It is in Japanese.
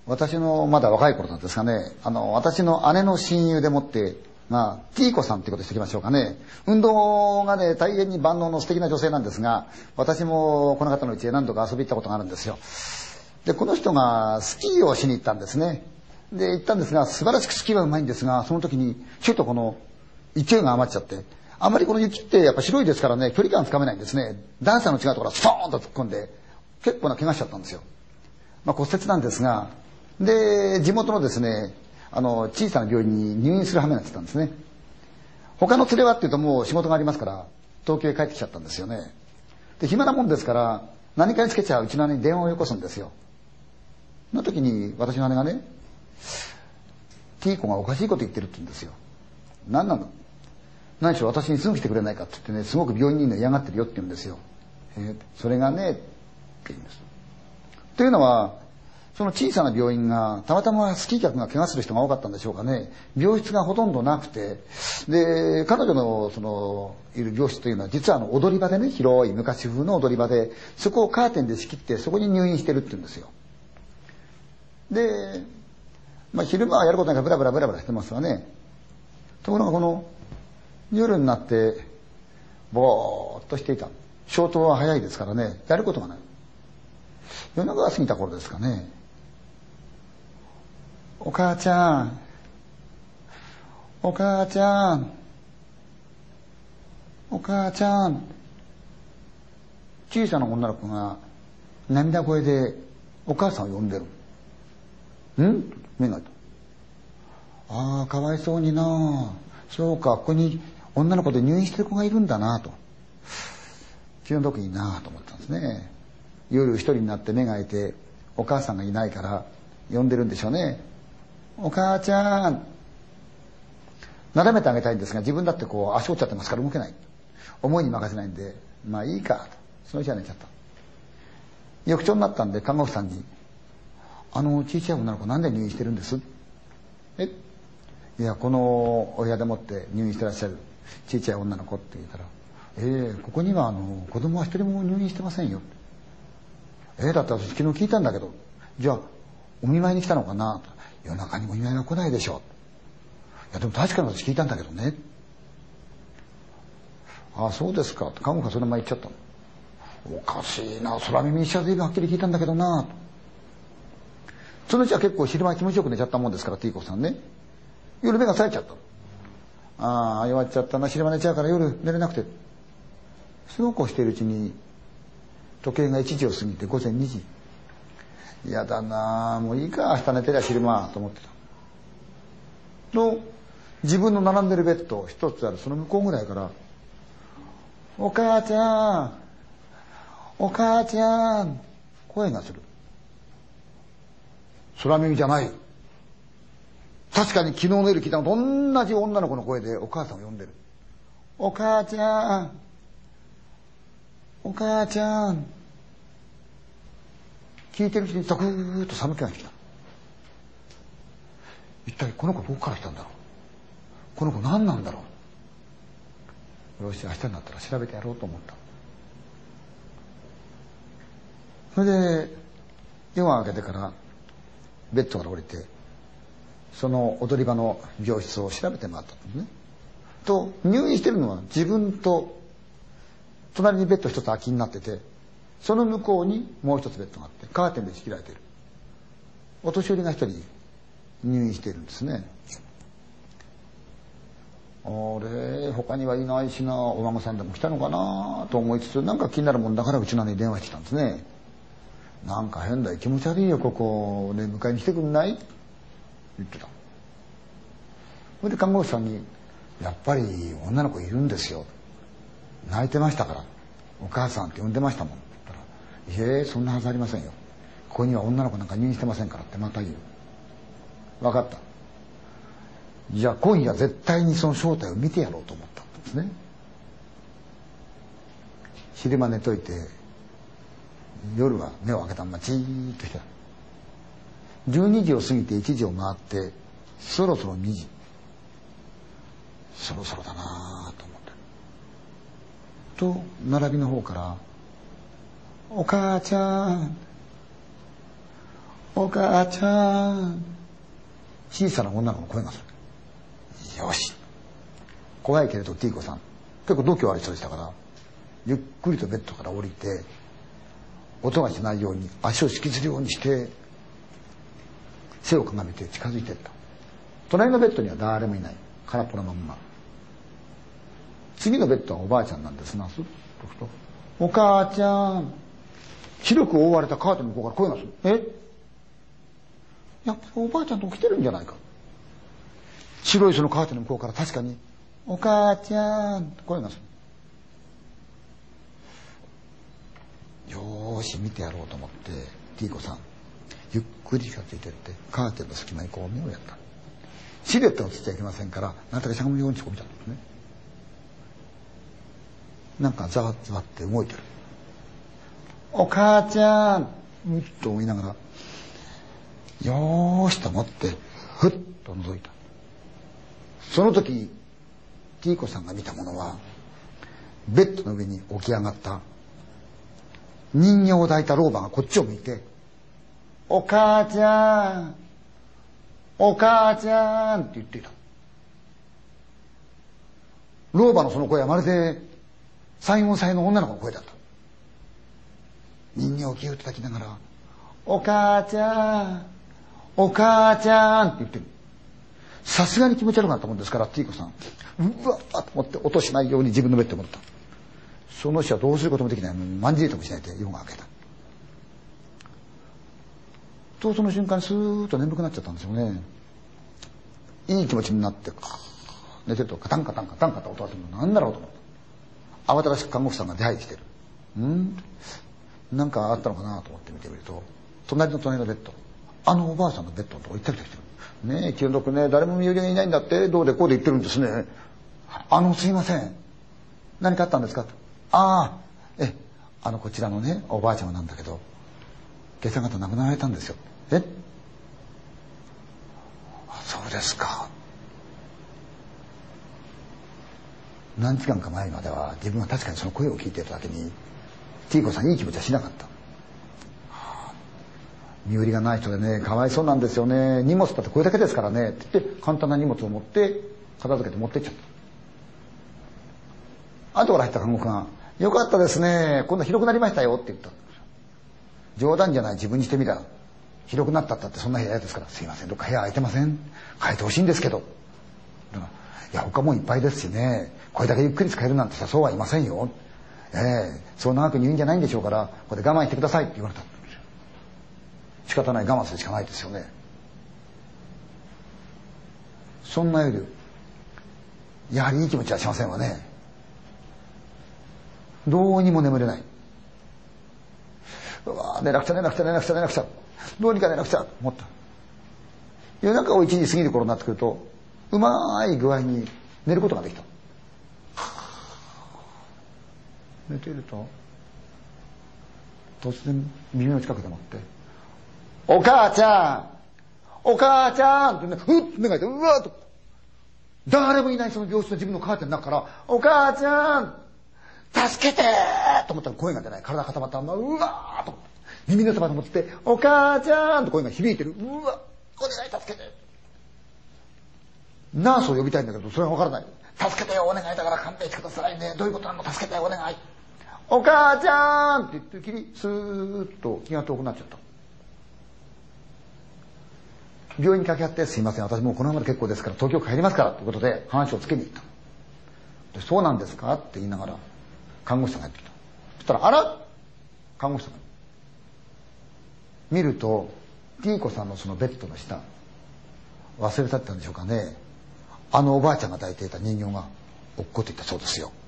私のまだ若い頃なんですかね、私の姉の親友でもって、T 子さんってことにしておきましょうかね。運動がね、大変に万能の素敵な女性なんですが、私もこの方の家へ何度か遊び行ったことがあるんですよ。で、この人がスキーをしに行ったんですね。で、行ったんですが、素晴らしくスキーはうまいんですが、その時にちょっとこの勢いが余っちゃって、あまりこの雪ってやっぱ白いですからね、距離感つかめないんですね。段差の違うところからストーンと突っ込んで、結構な怪我しちゃったんですよ。骨折なんですが、で、地元のですね、小さな病院に入院する羽目になってたんですね。他の連れはっていうともう仕事がありますから、東京へ帰ってきちゃったんですよね。で、暇なもんですから、何かにつけちゃうちの姉に電話をよこすんですよ。その時に私の姉がね、T 子がおかしいこと言ってるって言うんですよ。何なの？何しろ私にすぐ来てくれないかって言ってね、すごく病院にいるの嫌がってるよって言うんですよ。それがね、って言うんです。というのは、その小さな病院がたまたまスキー客が怪我する人が多かったんでしょうかね。病室がほとんどなくて、で彼女のそのいる病室というのは実は踊り場でね、広い昔風の踊り場で、そこをカーテンで仕切ってそこに入院してるって言うんですよ。で、昼間はやることないからブラブラしてますわね。ところがこの夜になってぼーっとしていた。消灯は早いですからね、やることがない。夜中が過ぎた頃ですかね。お母ちゃん、お母ちゃん、お母ちゃん。小さな女の子が涙声でお母さんを呼んでる。ん？目が開いた。ああ、かわいそうにな。そうか、ここに女の子で入院してる子がいるんだなと。気の毒になと思ったんですね。夜一人になって目が開いて、お母さんがいないから呼んでるんでしょうね。お母ちゃん。なだめてあげたいんですが、自分だってこう足折っちゃってますから動けない。思いに任せないんで、いいかと。その日は寝ちゃった。翌朝になったんで看護婦さんに、小さい女の子なんで入院してるんです？いや、このお部屋でもって入院してらっしゃる小さい女の子って言ったら、ここには子供は一人も入院してませんよ。だって私昨日聞いたんだけど、じゃあお見舞いに来たのかなと。夜中にお見舞いは来ないでしょう。いやでも確かに私聞いたんだけどね。ああそうですかって看護婦がそのまま言っちゃったの。おかしいな、空耳にしちゃ随分はっきり聞いたんだけどなと。そのうちは結構昼間気持ちよく寝ちゃったもんですから、T 子さんね。夜目が冴えちゃったの。ああ弱っちゃったな、昼間寝ちゃうから夜寝れなくて。そうこうしているうちに時計が1時を過ぎて午前2時。嫌だなあ、もういいか、明日寝てりゃ昼間と思ってたと、自分の並んでるベッド一つあるその向こうぐらいから「お母ちゃん、お母ちゃん」声がする。空耳じゃない。確かに昨日の夜聞いたのと同じ女の子の声でお母さんを呼んでる。お母ちゃん、お母ちゃん。聞いてるうちにザクーッと寒気がしてきた。一体この子どこから来たんだろう、この子何なんだろう。よし明日になったら調べてやろうと思った。それで夜が明けてからベッドから降りてその踊り場の病室を調べて回ったんですね。と入院してるのは自分と隣にベッド一つ空きになってて、その向こうにもう一つベッドがあってカーテンで仕切られている。お年寄りが一人入院しているんですね。あれ他にはいないしな、お孫さんでも来たのかなと思いつつ、なんか気になるもんだからうちの姉に電話してきたんですね。なんか変だ、気持ち悪いよここね、迎えに来てくんないって言ってた。それで看護師さんに「やっぱり女の子いるんですよ、泣いてましたからお母さんって呼んでましたもん」って言ったら「いえそんなはずありませんよ、ここには女の子なんか入院してませんから」ってまた言う。分かった、じゃあ今夜絶対にその正体を見てやろうと思ったんですね。昼間寝といて夜は目を開けたままじーっとしてた。12時を過ぎて1時を回ってそろそろ2時、そろそろだなと思ってと並びの方から「お母ちゃん、 お母ちゃん。小さな女の子の声がする。よし。怖いけれどティーコさん結構度胸ある人でしたから、ゆっくりとベッドから降りて、音がしないように足を引きずるようにして背をかがめて近づいていった。隣のベッドには誰もいない。空っぽのまんま。次のベッドはおばあちゃんなんですな。すっとくと、お母ちゃん。広く覆われたカーテンの向こうから声がする。やっぱりおばあちゃんと起きてるんじゃないか。白いそのカーテンの向こうから確かにお母ちゃんって声がする。よーし見てやろうと思ってティーコさんゆっくり近づいてってカーテンの隙間にこう目をやった。シルエットが映っちゃいけませんから、なんとかしゃがむようにこう見たんですね。なんかざわざわって動いてる。お母ちゃんうんと思いながら、よーしと思ってふっと覗いた。その時ティーコさんが見たものは、ベッドの上に起き上がった人形を抱いた老婆がこっちを向いて、お母ちゃんお母ちゃんって言っていた。老婆のその声はまるで3、4歳の女の子の声だった。人形をギュッと抱きながら、お母ちゃんお母ちゃんって言ってる。さすがに気持ち悪くなったもんですから、ティーコさんうわっと思って音しないように自分のベッドに戻った。その人はどうすることもできない。まんじりともしないで夜が明けたと、その瞬間にスーッと眠くなっちゃったんですよね。いい気持ちになって寝てるとカタンカタンカタンカタン音がするの。なんだろうと思った。慌ただしく看護婦さんが出入りしてる。なんかあったのかなと思って見てみると、隣のベッド、おばあさんのベッドのとこ行ったり来たりしてる。ねえ気の毒ね、誰も身寄りがいないんだって、どうでこうで言ってるんですね。すいません、何かあったんですかと。こちらのねおばあちゃまなんだけど今朝方亡くなられたんですよ。そうですか。何時間か前までは自分は確かにその声を聞いていただけにティーコさんいい気持ちはしなかった。身寄りがない人でね、かわいそうなんですよね。荷物だってこれだけですからねって言って簡単な荷物を持って片付けて持ってっちゃった。後から入った看護婦が、よかったですね、今度広くなりましたよって言った。冗談じゃない、自分にしてみたら広くなったってそんな部屋ですから、すいませんどっか部屋空いてません、変えてほしいんですけど。だから、いや他もいっぱいですしね、これだけゆっくり使えるなんてさそうはいませんよ。そう長く入院じゃないんでしょうから、ここで我慢してくださいって言われた。仕方ない、我慢するしかないですよね。そんな夜やはりいい気持ちはしませんわね。どうにも眠れない。うわ寝なくちゃ寝なくちゃ寝なくちゃ寝なくちゃ、どうにか寝なくちゃと思った。夜中を1時過ぎる頃になってくると、うまい具合に寝ることができた。寝ていると突然耳の近くでもって「お母ちゃんお母ちゃん」ってね、ふっと目が開いて、うわーっと誰もいないその病室の自分のカーテンの中から「お母ちゃん助けて!」と思ったら声が出ない。体固まったままうわーっと耳のそばでもって「お母ちゃん」と声が響いてる。うわお願い助けて。ナースを呼びたいんだけどそれが分からない。助けてよお願いだから勘弁してくださいね、どういうことなの助けてお願い。お母ちゃんって言ってるきりスーッと気が遠くなっちゃった。病院に掛け合って、すいません私もうこのままで結構ですから東京帰りますからということで話をつけに行った。でそうなんですかって言いながら看護師さんがやってきた。そしたらあら看護師さんが見るとティーコさんのそのベッドの下、忘れたってたんでしょうかね、おばあちゃんが抱いていた人形が落っこっていったそうですよ。